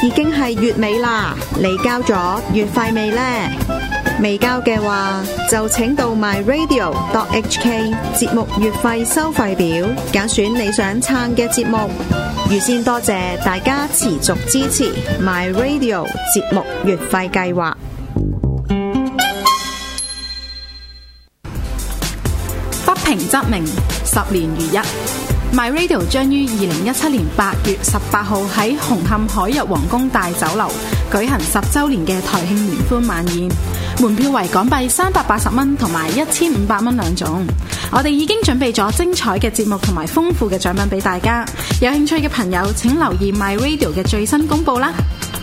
已經係月尾啦，你交咗月費未呢？未交嘅話，就請到 myradio.hk 節目月費收費表，揀選你想撐嘅節目。預先多謝大家持續支持 myradio 節目月費計劃。 不平則鳴，10年如一。myradio 將於2017年8月18號喺紅磡海逸皇宮大酒樓舉行10週年嘅台慶聯歡晚宴，門票為港幣380蚊同埋1500蚊兩種。我哋已經準備咗精彩嘅節目同埋豐富嘅獎品俾大家，有興趣嘅朋友請留意 myradio 嘅最新公佈啦。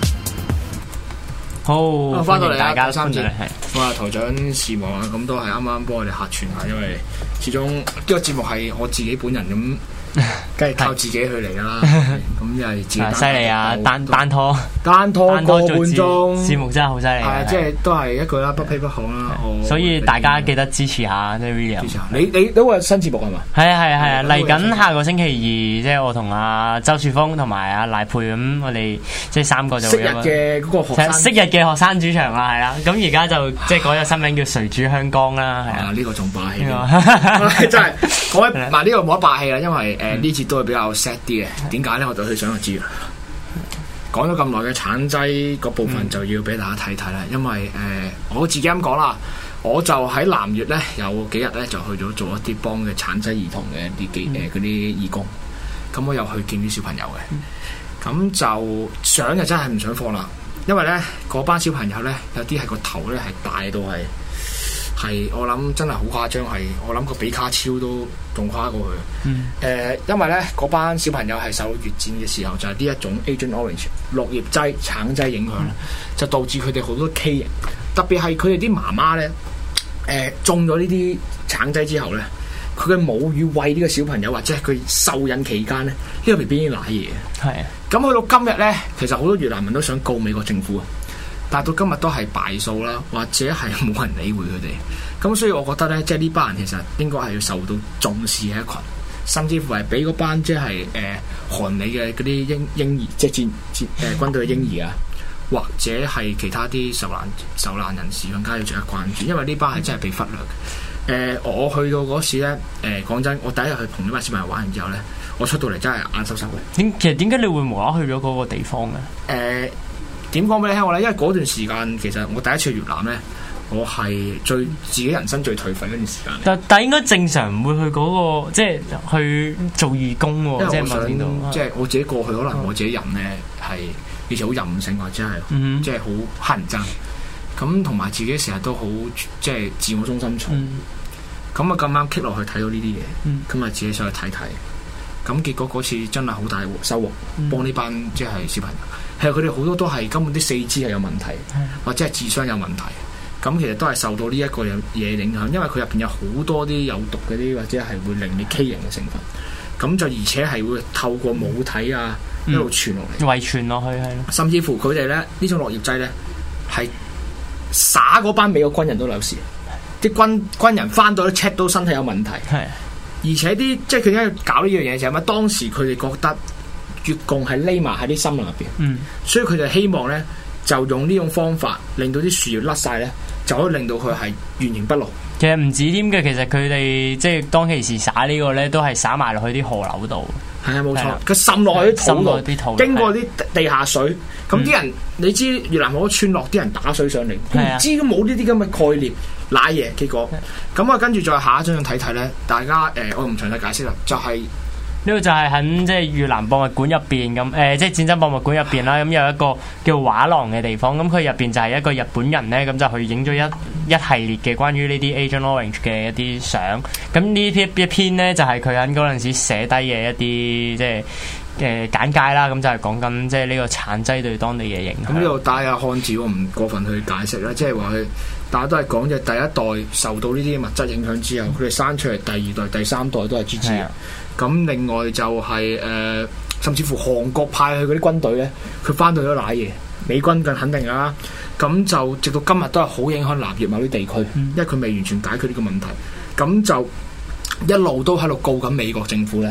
好， 翻到嚟大家三節，我係台長事務啊，咁都係啱啱幫我哋客串下，因為始終呢個節目係我自己本人咁。梗係靠自己去嚟噶啦，咁又係自己犀利啊！單拖個半鐘節目真係好犀利， 係啊，即係都係一句啦，不卑不亢啦。 所以大家記得支持下即係 William。 你都有新節目係嘛？ 係啊，嚟緊下個星期二，即係我同阿周樹峰同埋阿賴佩咁，我哋即係三個就昔日嘅嗰個學生， 昔日嘅學生主場啦，係啦。咁而家就即係改咗新名叫誰主香江啦，係啊。 呢個仲霸氣，真係講嗱呢個冇得霸氣啦，因為呢節都係比較 sad 啲嘅。點解咧？我就去想就知啦。講咗咁耐嘅橙劑嗰部分就要俾大家睇睇啦，因為我自己咁講啦，我就喺南粵咧有幾日咧就去咗做一啲幫嘅橙劑兒童嘅一啲嗰啲義工，咁我又去見啲小朋友嘅，咁就相就真係唔想放啦，因為咧嗰班小朋友咧有啲係個頭咧係大到係我諗真係好誇張，係我諗個比卡超都仲誇過佢。因為咧嗰班小朋友係受到越戰嘅時候就係呢一種 Agent Orange 綠葉劑橙劑影響，就導致佢哋好多畸形，特別係佢哋啲媽媽咧中咗呢啲橙劑之後咧，佢嘅母乳餵呢個小朋友或者係佢受孕期間咧，呢個 BB 已經瀨嘢。係啊，咁去到今日咧，其實好多越南人都想告美國政府啊。但到今日都係敗訴啦，或者係冇人理會佢哋。咁所以我覺得咧，即係呢班人其實應該係要受到重視嘅一群，甚至乎係俾嗰班即係韓美嘅嗰啲嬰兒，即係軍隊嘅嬰兒啊，或者係其他啲受難人士更加要值得關注，因為呢班係真係被忽略嘅。我去到嗰時咧，講真，我第一日去同呢班小朋友玩完之後咧，我出到嚟真係眼濕濕嘅。 其實點解你會無啦去咗嗰個地方嘅？ 點講俾你聽我咧？因為嗰段時間其實我第一次去越南咧，我係自己人生最頹廢嗰段時間。但應該正常唔會去嗰個即係去做義工喎。因為我想即係我自己過去，可能我自己人咧係以前好任性或者係即係好乞人憎。咁同埋自己成日都好即係自我中心重。咁啊咁啱棘落去睇到呢啲嘢，咁啊自己上去睇睇。咁結果嗰次真係好大收穫，幫呢班即係小朋友。係佢哋好多都係根本啲四肢係有問題，或者係智商有問題。咁其實都係受到呢一個嘢影響，因為佢入邊有好多啲有毒嗰啲，或者係會令你畸形嘅成分。咁就而且係會透過母體啊一路傳落嚟， 遺傳落去係咯。甚至乎佢哋咧呢種落葉劑咧係灑嗰班美國軍人都有事，啲軍人翻到都 check 到身體有問題。係，而且啲即係佢點解要搞呢樣嘢就係因為當時佢哋覺得。越共係匿埋喺啲森林入邊，所以佢哋希望咧就用呢種方法令到啲樹葉甩晒咧，就可以令到佢係原形不露。 其實唔止添嘅，其實佢哋即係當其時灑呢個咧，都係灑埋落去啲河流度。係啊，冇錯，佢滲落去啲土度，經過啲地下水。咁啲人你知越南好多村落啲人打水上嚟，唔知都冇呢啲咁嘅概念，瀨嘢。結果咁啊，跟住再下一張睇睇咧，大家我唔詳細解釋啦，就係。 呢個就係喺即係越南博物館入邊咁，即係戰爭博物館入邊啦。咁有一個叫畫廊嘅地方，咁佢入邊就係一個日本人咧，咁就去影咗一系列嘅關於呢啲 Agent Orange 嘅一啲相。咁呢一篇咧就係佢喺嗰陣時寫低嘅一啲即係簡介啦。咁就係講緊即係呢個橙劑對當地嘅影響。 咁呢度帶下漢字，我唔過分去解釋啦，即係話佢大家都係講嘅第一代受到呢啲物質影響之後，佢哋生出嚟第二代、第三代都係支持嘅。咁另外就係甚至乎韓國派去嗰啲軍隊咧，佢翻到咗瀨嘢，美軍更肯定啦。咁就直到今日都係好影響南越某啲地區，因為佢未完全解決呢個問題。咁就一路都喺度告緊美國政府咧，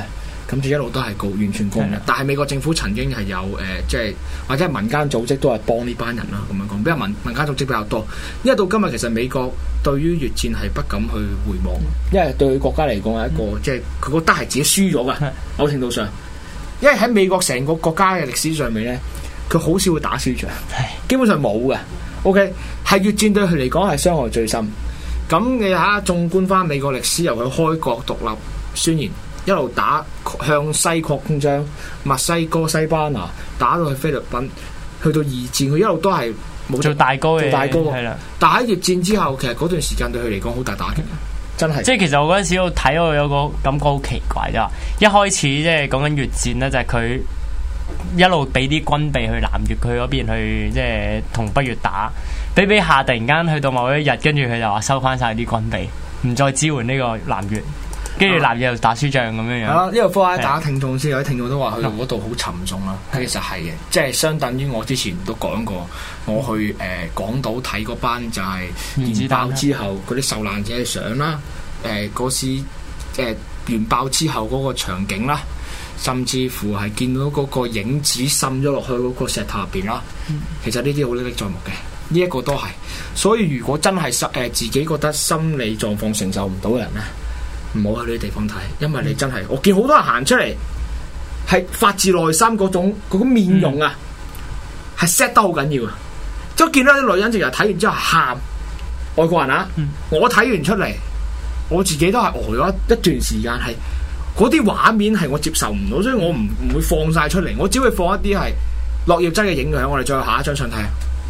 咁就一路都係告完全告嘅。但係美國政府曾經係有即係或者係民間組織都係幫呢班人啦，咁樣講，比較民間組織比較多。因為到今日其實美國對於越戰係不敢去回望，因為對國家嚟講係一個即係佢覺得係自己輸咗㗎，某程度上。因為喺美國成個國家嘅歷史上面咧，佢好少會打輸仗，基本上冇嘅。OK， 係越戰對佢嚟講係傷害最深。咁你睇下，縱觀翻美國歷史，由佢開國獨立宣言一路打向西擴張，墨西哥、西班牙打到去菲律賓，去到二戰，佢一路都係冇做大哥嘅， 做大哥。 係啦。 但喺越戰之後，其實嗰段時間對佢嚟講好大打擊，真係。 即係其實我嗰陣時我睇我有個感覺好奇怪，就話一開始即係講緊越戰咧，就係佢一路俾啲軍備去南越佢嗰邊去，即係同北越打。比下突然間去到某一日，跟住佢就話收翻晒啲軍備，唔再支援呢個南越，跟住南越又打輸仗咁樣樣。係啦， 呢個科大家聽眾先，有啲聽眾都話去到嗰度好沉重啦。其實係嘅，即係相等於我之前都講過，我去港島睇嗰班就係原爆之後嗰啲受難者嘅相啦，嗰時原爆之後嗰個場景啦，甚至乎係見到嗰個影子滲咗落去嗰個石頭入邊啦。其實呢啲好歷歷在目嘅。呢一個都係，所以如果真係自己覺得心理狀況承受唔到嘅人咧，唔好去呢啲地方睇，因為你真係，我見好多人行出嚟係發自內心嗰種面容啊，係 set 得好緊要啊！即係見到啲女人直頭睇完之後喊，外國人啊，我睇完出嚟，我自己都係呆咗一段時間，係嗰啲畫面係我接受唔到，所以我唔會放晒出嚟，我只會放一啲係落葉劑嘅影響。我哋再下一張相睇。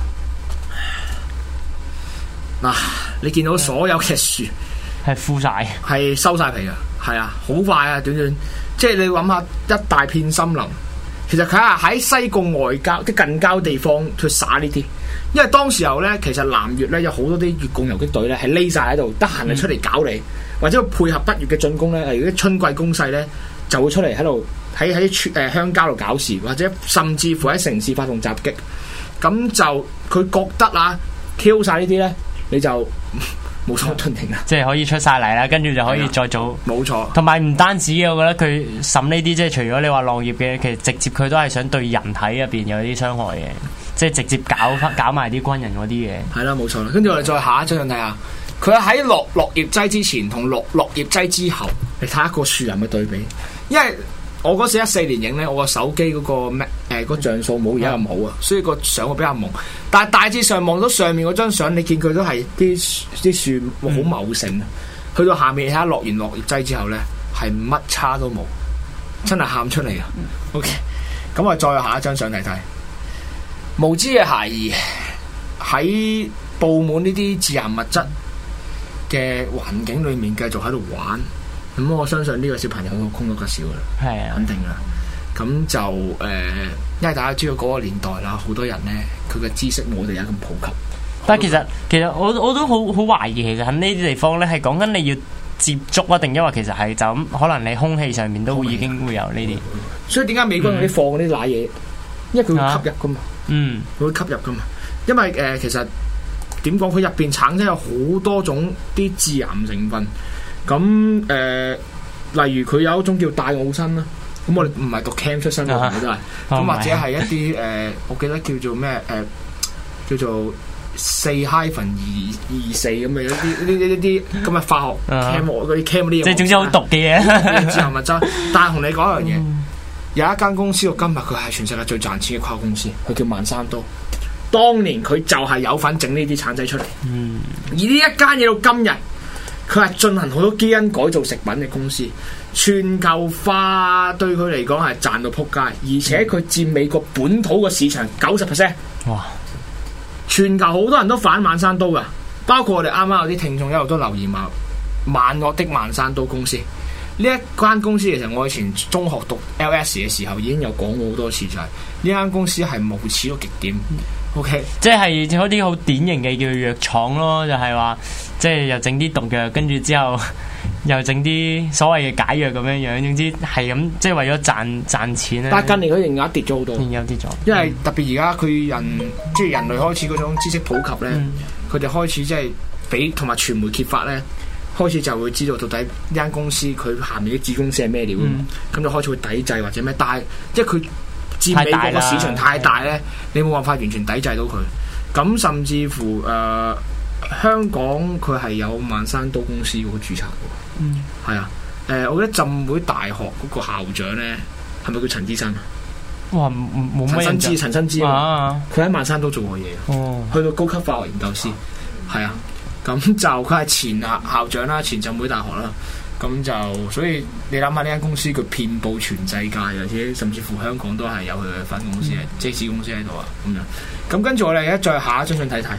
嗱，你見到所有嘅樹係枯晒， 係收晒皮噶，係啊，好快啊，短即係你諗下一大片森林，其實佢係喺西貢外郊啲近郊地方去撒呢啲，因為當時候咧，其實南越咧有好多啲越共游擊隊咧係匿晒喺度，得閒就出嚟搞你，或者配合北越嘅進攻咧，例如啲春季攻勢咧就會出嚟喺度喺鄉郊度搞事，或者甚至乎喺城市發動襲擊，咁就佢覺得啊 kill 晒呢啲咧。你就冇所遁形啦， 即係可以出晒嚟啦，跟住就可以再做。冇錯，同埋唔單止嘅，我覺得佢審呢啲，即係除咗你話浪葉嘅，其實直接佢都係想對人體入邊有啲傷害嘅，即係直接搞埋啲軍人嗰啲嘢。係啦，冇錯啦。跟住我哋再下一張睇下，佢喺落葉劑之前同落葉劑之後，你睇一個樹林嘅對比，因為。我嗰時14年影咧，我個手機嗰個像素冇而家咁好啊，所以個相會比較朦。但係大致上望到上面嗰張相，你見佢都係啲樹好茂盛啊。去到下面睇下落完落葉劑之後咧，係乜差都冇，真係喊出嚟啊！OK， 咁我再下一張相睇睇，無知嘅孩兒喺佈滿呢啲致癌物質嘅環境裏面繼續喺度玩。咁我相信呢個小朋友都空咗吉少啦，係啊，肯定啦。咁就因為大家知道嗰個年代啦，好多人咧佢嘅知識冇我哋而家咁普及。但係其實我都好懷疑，其實喺呢啲地方咧係講緊你要接觸啊，定因為其實係就咁，可能你空氣上面都已經會有呢啲。所以點解美國嗰啲放嗰啲奶嘢？因為佢會吸入噶嘛，佢會吸入噶嘛。因為其實點講，佢入邊產生有好多種啲致癌成分。咁例如佢有一種叫戴奧辛啦，咁我哋唔係讀 cam 出身嘅，真係咁或者係一啲我記得叫做咩叫做4-24咁嘅一啲咁嘅化學 cam 嗰啲 cam 嗰啲嘢，即係總之好毒嘅嘢，致癌物質。但係同你講一樣嘢，有一間公司到今日佢係全世界最賺錢嘅跨國公司，佢叫萬山都。當年佢就係有份整呢啲橙仔出嚟，而呢一間嘢到今日。佢係進行好多基因改造食品嘅公司，全球化對佢嚟講係賺到撲街，而且佢佔美國本土嘅市場90%。哇！全球好多人都反萬山都噶，包括我哋啱啱有啲聽眾一路都留言話萬惡的萬山都公司。呢一間公司其實我以前中學讀 LS 嘅時候已經有講過好多次，就係呢間公司係無恥到極點。OK， 即係嗰啲好典型嘅叫藥廠咯，就係話即係又整啲毒藥，跟住之後又整啲所謂嘅解藥咁樣樣，總之係咁，即係為咗賺錢咧。但係近年佢營業跌咗好多，營業跌咗，因為特別而家佢即係人類開始嗰種知識普及咧，佢哋開始即係俾同埋傳媒揭發咧， 開始就會知道到底呢間公司佢下面啲子公司係咩料，咁就開始會抵制或者咩，但係即係佢佔美國個市場太大咧，你冇辦法完全抵制到佢。咁甚至乎香港佢係有萬山都公司嗰個註冊嘅，係啊，我覺得浸會大學嗰個校長咧係咪叫陳之新啊？ 哇，冇乜印象。 陳新之啊，佢喺萬山都做過嘢，去到高級化學研究師，係啊，咁就佢係前校長啦，前浸會大學啦，咁就所以你諗下呢間公司佢遍佈全世界，而且甚至乎香港都係有佢嘅分公司，即係子公司喺度啊，咁樣。咁跟住我哋而家再下一張相睇睇。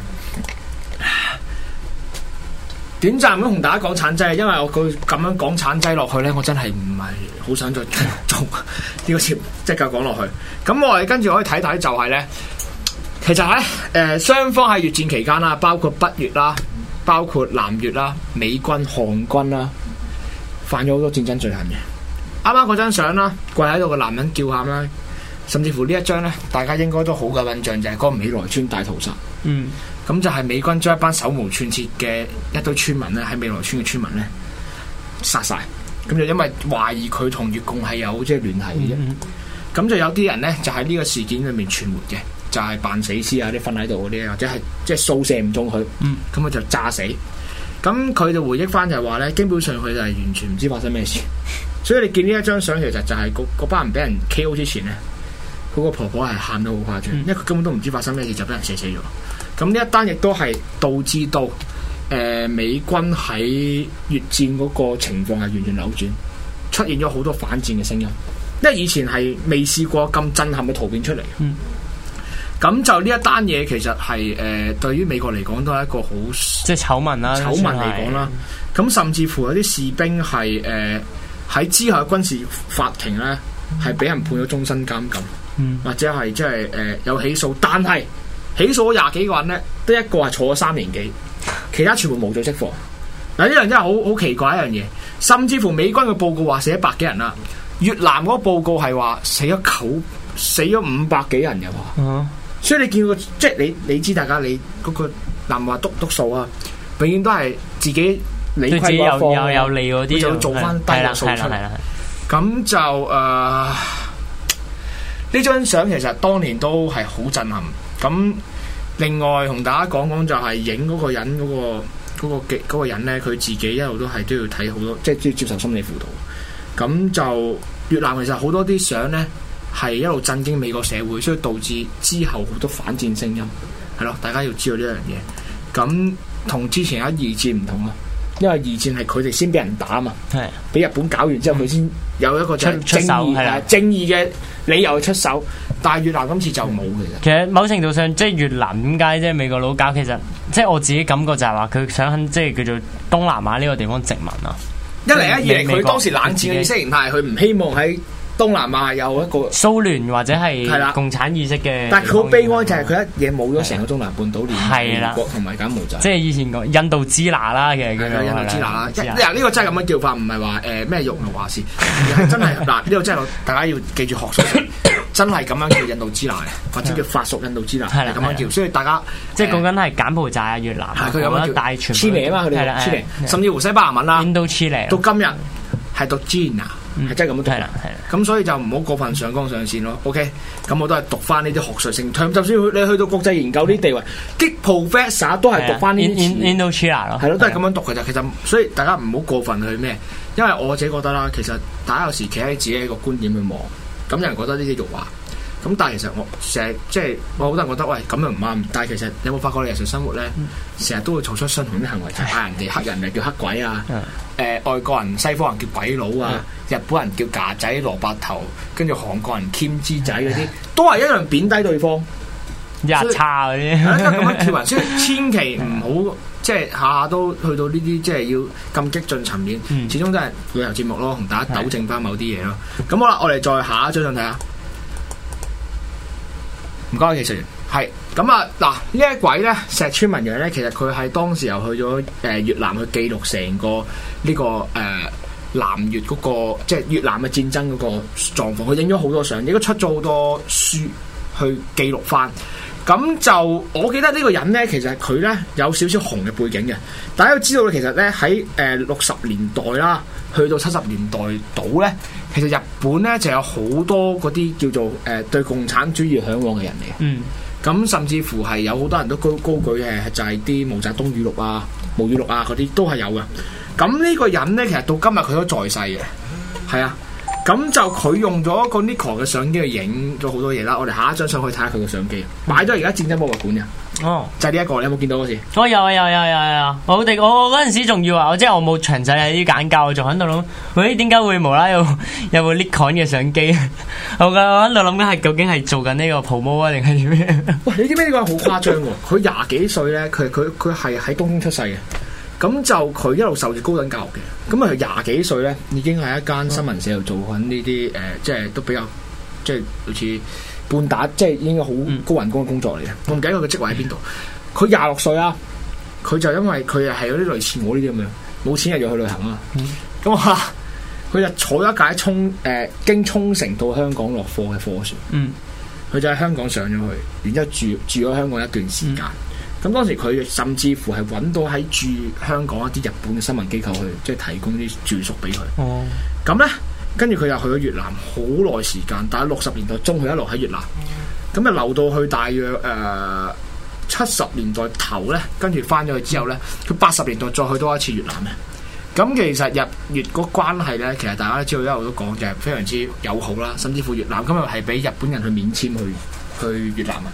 短暫咁同大家講橙劑，因為我佢咁樣講橙劑落去咧，我真係唔係好想再做呢個節目，即係繼續講落去。咁我哋跟住可以睇睇就係咧，其實咧雙方喺越戰期間啦，包括北越啦，包括南越啦，美軍、韓軍啦，犯咗好多戰爭罪行嘅。啱啱嗰張相啦，跪喺度個男人叫喊啦，甚至乎呢一張咧，大家應該都好有印象，就係嗰個美萊村大屠殺。咁就係美軍將一班手無寸鐵嘅一堆村民咧，喺美萊村嘅村民咧殺晒，咁就因為懷疑佢同越共係有即係聯繫嘅啫。咁就有啲人咧就喺呢個事件裏面存活嘅，就係扮死屍啊，啲瞓喺度嗰啲，或者係即係掃射唔中佢，咁佢就炸死。咁佢就回憶翻就係話咧，基本上佢就係完全唔知發生咩事。所以你見呢一張相，其實就係嗰班人俾人 KO 之前咧，嗰個婆婆係喊得好誇張，因為佢根本都唔知發生咩事就俾人射死咗。咁呢一單亦都係導致到美軍喺越戰嗰個情況係完全扭轉，出現咗好多反戰嘅聲音，因為以前係未試過咁震撼嘅圖片出嚟。咁就呢一單嘢其實係對於美國嚟講都係一個好即係醜聞啦， 醜聞嚟講啦。咁甚至乎有啲士兵係喺之後嘅軍事法庭咧係俾人判咗終身監禁，或者係即係有起訴，但係起訴咗20幾個人咧，得一個係坐咗3年幾，其他全部無罪釋放。嗱，呢樣真係好奇怪一樣嘢。甚至乎美軍嘅報告話死100幾人啦，越南嗰個報告係話死咗500幾人嘅喎。所以你見到即係你知大家你嗰個南華督數啊，永遠都係自己理虧嗰方有利嗰啲， 就做翻低個數出嚟。咁就呢張相其實當年都係好震撼。咁另外同大家講講就係影嗰個人嗰個人咧，佢自己一路都係都要睇好多，即係都要接受心理輔導。咁就越南其實好多啲相咧係一路震驚美國社會，所以導致之後好多反戰聲音，係咯，大家要知道呢樣嘢。咁同之前喺二戰唔同啊，因為二戰係佢哋先俾人打啊嘛，係俾日本搞完之後佢先有一個正義嘅理由出手，但係越南今次就冇嘅。 其實某程度上，即係越南點解即係美國佬搞？其實即係我自己感覺就係話佢想即係叫做東南亞呢個地方殖民啊。 一嚟二嚟，佢當時冷戰嘅意識形態，佢唔希望喺東南亞有一個蘇聯或者係共產意識嘅。 但係佢好悲哀就係佢一嘢冇咗成個中南半島，連美國同埋柬埔寨。 即係以前講印度支那啦，其實叫做印度支那啦。嗱，呢個真係咁樣叫法，唔係話咩肉肉話事，而係真係嗱，呢個真係大家要記住學術，真係咁樣叫印度支那嘅，或者叫法屬印度支那係咁樣叫。所以大家即係講緊係柬埔寨啊、越南， 佢咁樣叫大全黐嚟啊嘛，佢哋黐嚟，甚至乎西班牙文啦， 印度黐嚟， 到今日係讀 Gina。係真係咁樣讀，咁所以就唔好過分上綱上線咯。OK，咁我都係讀翻呢啲學術性，就算你去到國際研究啲地位，啲 professor 都係讀翻呢啲詞。 Indochina 咯， 係咯，都係咁樣讀嘅啫。其實所以大家唔好過分去咩，因為我自己覺得啦，其實大家有時企喺自己一個觀點去望，咁有人覺得呢啲辱華，咁但係其實我成日即係我好多人覺得喂咁又唔啱，但係其實你有冇發覺你日常生活咧，成日都會做出相同啲行為，就嗌人哋黑人就叫黑鬼啊，外國人西方人叫鬼佬啊，日本人叫架仔蘿蔔頭，跟住韓國人兼之仔嗰啲，都係一樣貶低對方， 日差嗰啲， 咁樣跳人，所以千祈唔好即係下下都去到呢啲即係要咁激進層面，始終都係旅遊節目咯，同大家糾正翻某啲嘢咯。咁好啦，我哋再下一張相睇下。唔該，技術員係咁啊！嗱，呢一位咧石川文洋咧，其實佢係當時又去咗越南去記錄成個呢個南越嗰個即係越南嘅戰爭嗰個狀況，佢影咗好多相，亦都出咗好多書去記錄翻。 咁就我記得呢個人咧，其實佢咧有少少紅嘅背景嘅。大家都知道咧，其實咧喺60年代啦，去到70年代度咧，其實日本咧就有好多嗰啲叫做對共產主義嚮往嘅人嚟嘅。嗯。咁甚至乎係有好多人都高舉就係啲毛澤東語錄啊、毛語錄啊嗰啲都係有嘅。咁呢個人咧，其實到今日佢都在世嘅，係啊。咁就佢用咗個 Nikon 嘅相機去影咗好多嘢啦。我哋下一張相可以睇下佢嘅相機，擺咗而家戰爭博物館嘅。哦，就係呢一個，你有冇見到嗰時？ 我有。我嗰陣時仲要話，即係我冇詳細睇啲簡介，我仲喺度諗，喂，點解會無啦有部 Nikon 嘅相機？我喺度諗緊係究竟係做緊呢個 promo 啊，定係點樣？ 喂，你知唔知呢個好誇張喎？佢廿幾歲咧，佢係喺東京出世嘅。咁就佢一路受住高等教育嘅，咁啊佢廿幾歲咧，已經喺一間新聞社度做緊呢啲即係都比較即係好似半打，即係應該好高人工嘅工作嚟嘅。我唔記得佢嘅職位喺邊度。佢26歲啊，佢就因為佢係有啲類似我呢啲咁樣，冇錢又要去旅行啊。咁啊，佢就坐咗一架經沖繩到香港落貨嘅貨船。佢就喺香港上咗去，然之後住咗香港一段時間。咁當時佢甚至乎係揾到喺駐香港一啲日本嘅新聞機構去，即係提供啲住宿俾佢。哦，咁咧，跟住佢又去咗越南好耐時間，但係60年代中佢一路喺越南，咁就留到去大約70年代頭咧，跟住翻咗去之後咧，佢80年代再去多一次越南嘅。咁其實日越個關係咧，其實大家都知道一路都講就係非常之友好啦，甚至乎越南今日係俾日本人去免簽去越南啊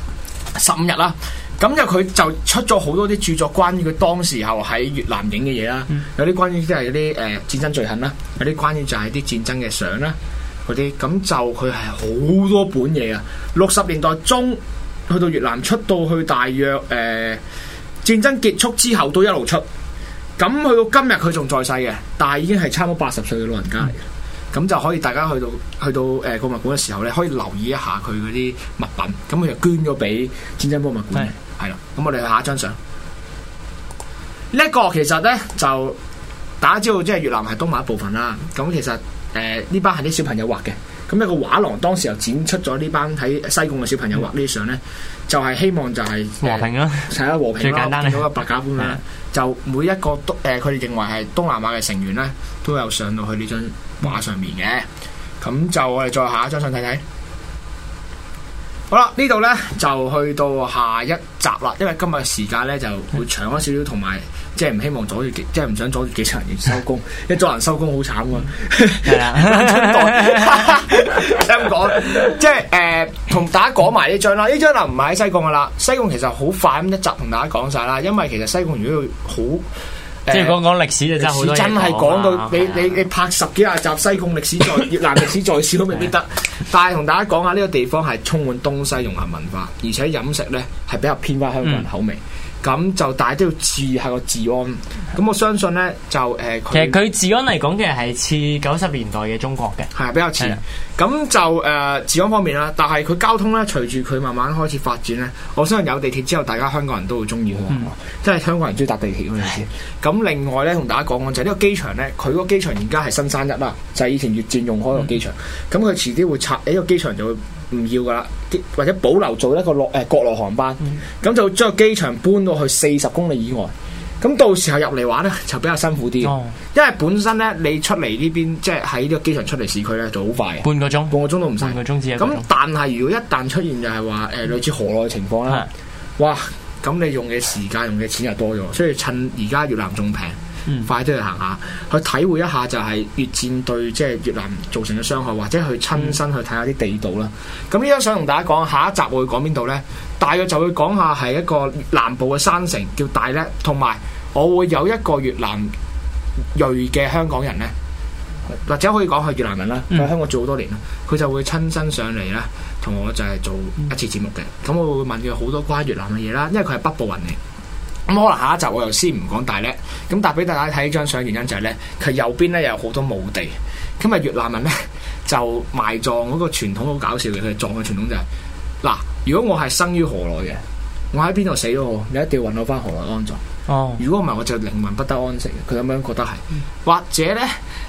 ，15日啦。咁就佢就出咗好多啲著作，關於佢當時候喺越南影嘅嘢啦，有啲關於即係有啲戰爭罪行啦，有啲關於就係啲戰爭嘅相啦嗰啲，咁就佢係好多本嘢啊！60年代中去到越南出到去大約戰爭結束之後都一路出，咁去到今日佢仲在世嘅，但係已經係差唔多80歲嘅老人家嚟嘅，咁就可以大家去到博物館嘅時候咧，可以留意一下佢嗰啲物品，咁佢就捐咗俾戰爭博物館。係啦，咁我哋去下一張相。呢一個其實咧就大家知道，即係越南係東馬一部分啦。咁其實呢班係啲小朋友畫嘅。咁一個畫廊當時又展出咗呢班喺西貢嘅小朋友畫呢啲相咧，就係希望就係和平啦， 係啦，和平啦， 最簡單見到個白鴿咁樣，就每一個佢哋認為係東南亞嘅成員咧，都有上到去呢張畫上面嘅。咁就我哋再下一張相睇睇。好啦，呢度咧就去到下一集啦，因為今日嘅時間咧就會長咗少少，同埋即係唔希望阻住，即係唔想阻住幾場人收工，因為阻人收工好慘㗎。係啊，咁講，即係同大家講埋呢張啦，呢張就唔係喺西貢噶啦，西貢其實好快咁一集同大家講晒啦，因為其實西貢如果要好。 即係講歷史就真係好多嘢講， 真係講到你拍10幾廿集西貢歷史在越南歷史在史都未必得，但係同大家講下呢個地方係充滿東西融合文化，而且飲食咧係比較偏翻香港人口味。咁就大家都要注意下個治安。咁我相信咧就其實佢治安嚟講嘅係似90年代嘅中國嘅， 係比較似。咁就治安方面啦，但係佢交通咧隨住佢慢慢開始發展咧，我相信有地鐵之後，大家香港人都會中意去。即係香港人中意搭地鐵嗰陣時。咁另外咧同大家講講就係呢個機場咧，佢個機場而家係新山一啦，就係以前越戰用開個機場。咁佢遲啲會拆呢個機場就會唔要噶啦，或者保留做一個國內航班，咁就將個機場搬到去40公里以外。咁到時候入嚟玩咧就比較辛苦啲，因為本身咧你出嚟呢邊即係喺呢個機場出嚟市區咧就好快嘅，半個鐘都唔使。咁但係如果一旦出現就係話類似河內嘅情況啦，哇！咁你用嘅時間用嘅錢又多咗，所以趁而家越南仲平。快啲去行下，去體會一下就係越戰對即係越南造成嘅傷害，或者去親身去睇下啲地道啦。咁呢張相同大家講，下一集我會講邊度呢？大約就會講下係一個南部嘅山城叫大叻，同埋我會有一個越南裔嘅香港人呢，或者可以講係越南人啦，喺香港做好多年啦，佢就會親身上嚟咧，同我就係做一次節目嘅。咁我會問佢好多關於越南嘅嘢啦，因為佢係北部人嚟。咁可能下一集我又先唔講大叻，咁但係俾大家睇呢張相原因就係咧，佢右邊咧有好多墓地，咁啊越南人咧就埋葬嗰個傳統好搞笑嘅，佢哋葬嘅傳統就係嗱，如果我係生於河內嘅，我喺邊度死咗我，你一定要運我翻河內安葬。哦，如果唔係我就靈魂不得安息，佢咁樣覺得係，或者咧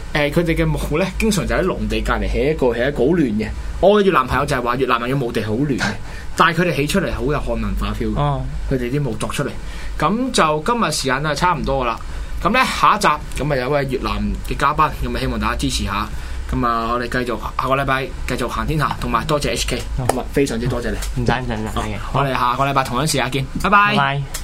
佢哋嘅墓咧，經常就喺農地隔離起一個好亂嘅。我嘅越南朋友就係話越南人嘅墓地好亂嘅，但係佢哋起出嚟好有漢文化 feel。佢哋啲墓作出嚟，咁就今日時間都係差唔多噶啦。咁咧下一集咁啊有位越南嘅嘉賓，咁啊希望大家支持下。咁啊我哋繼續下個禮拜繼續行天下，同埋多謝 HK，咁啊非常之多謝你。 唔使。 我哋下個禮拜同樣時間見，拜拜。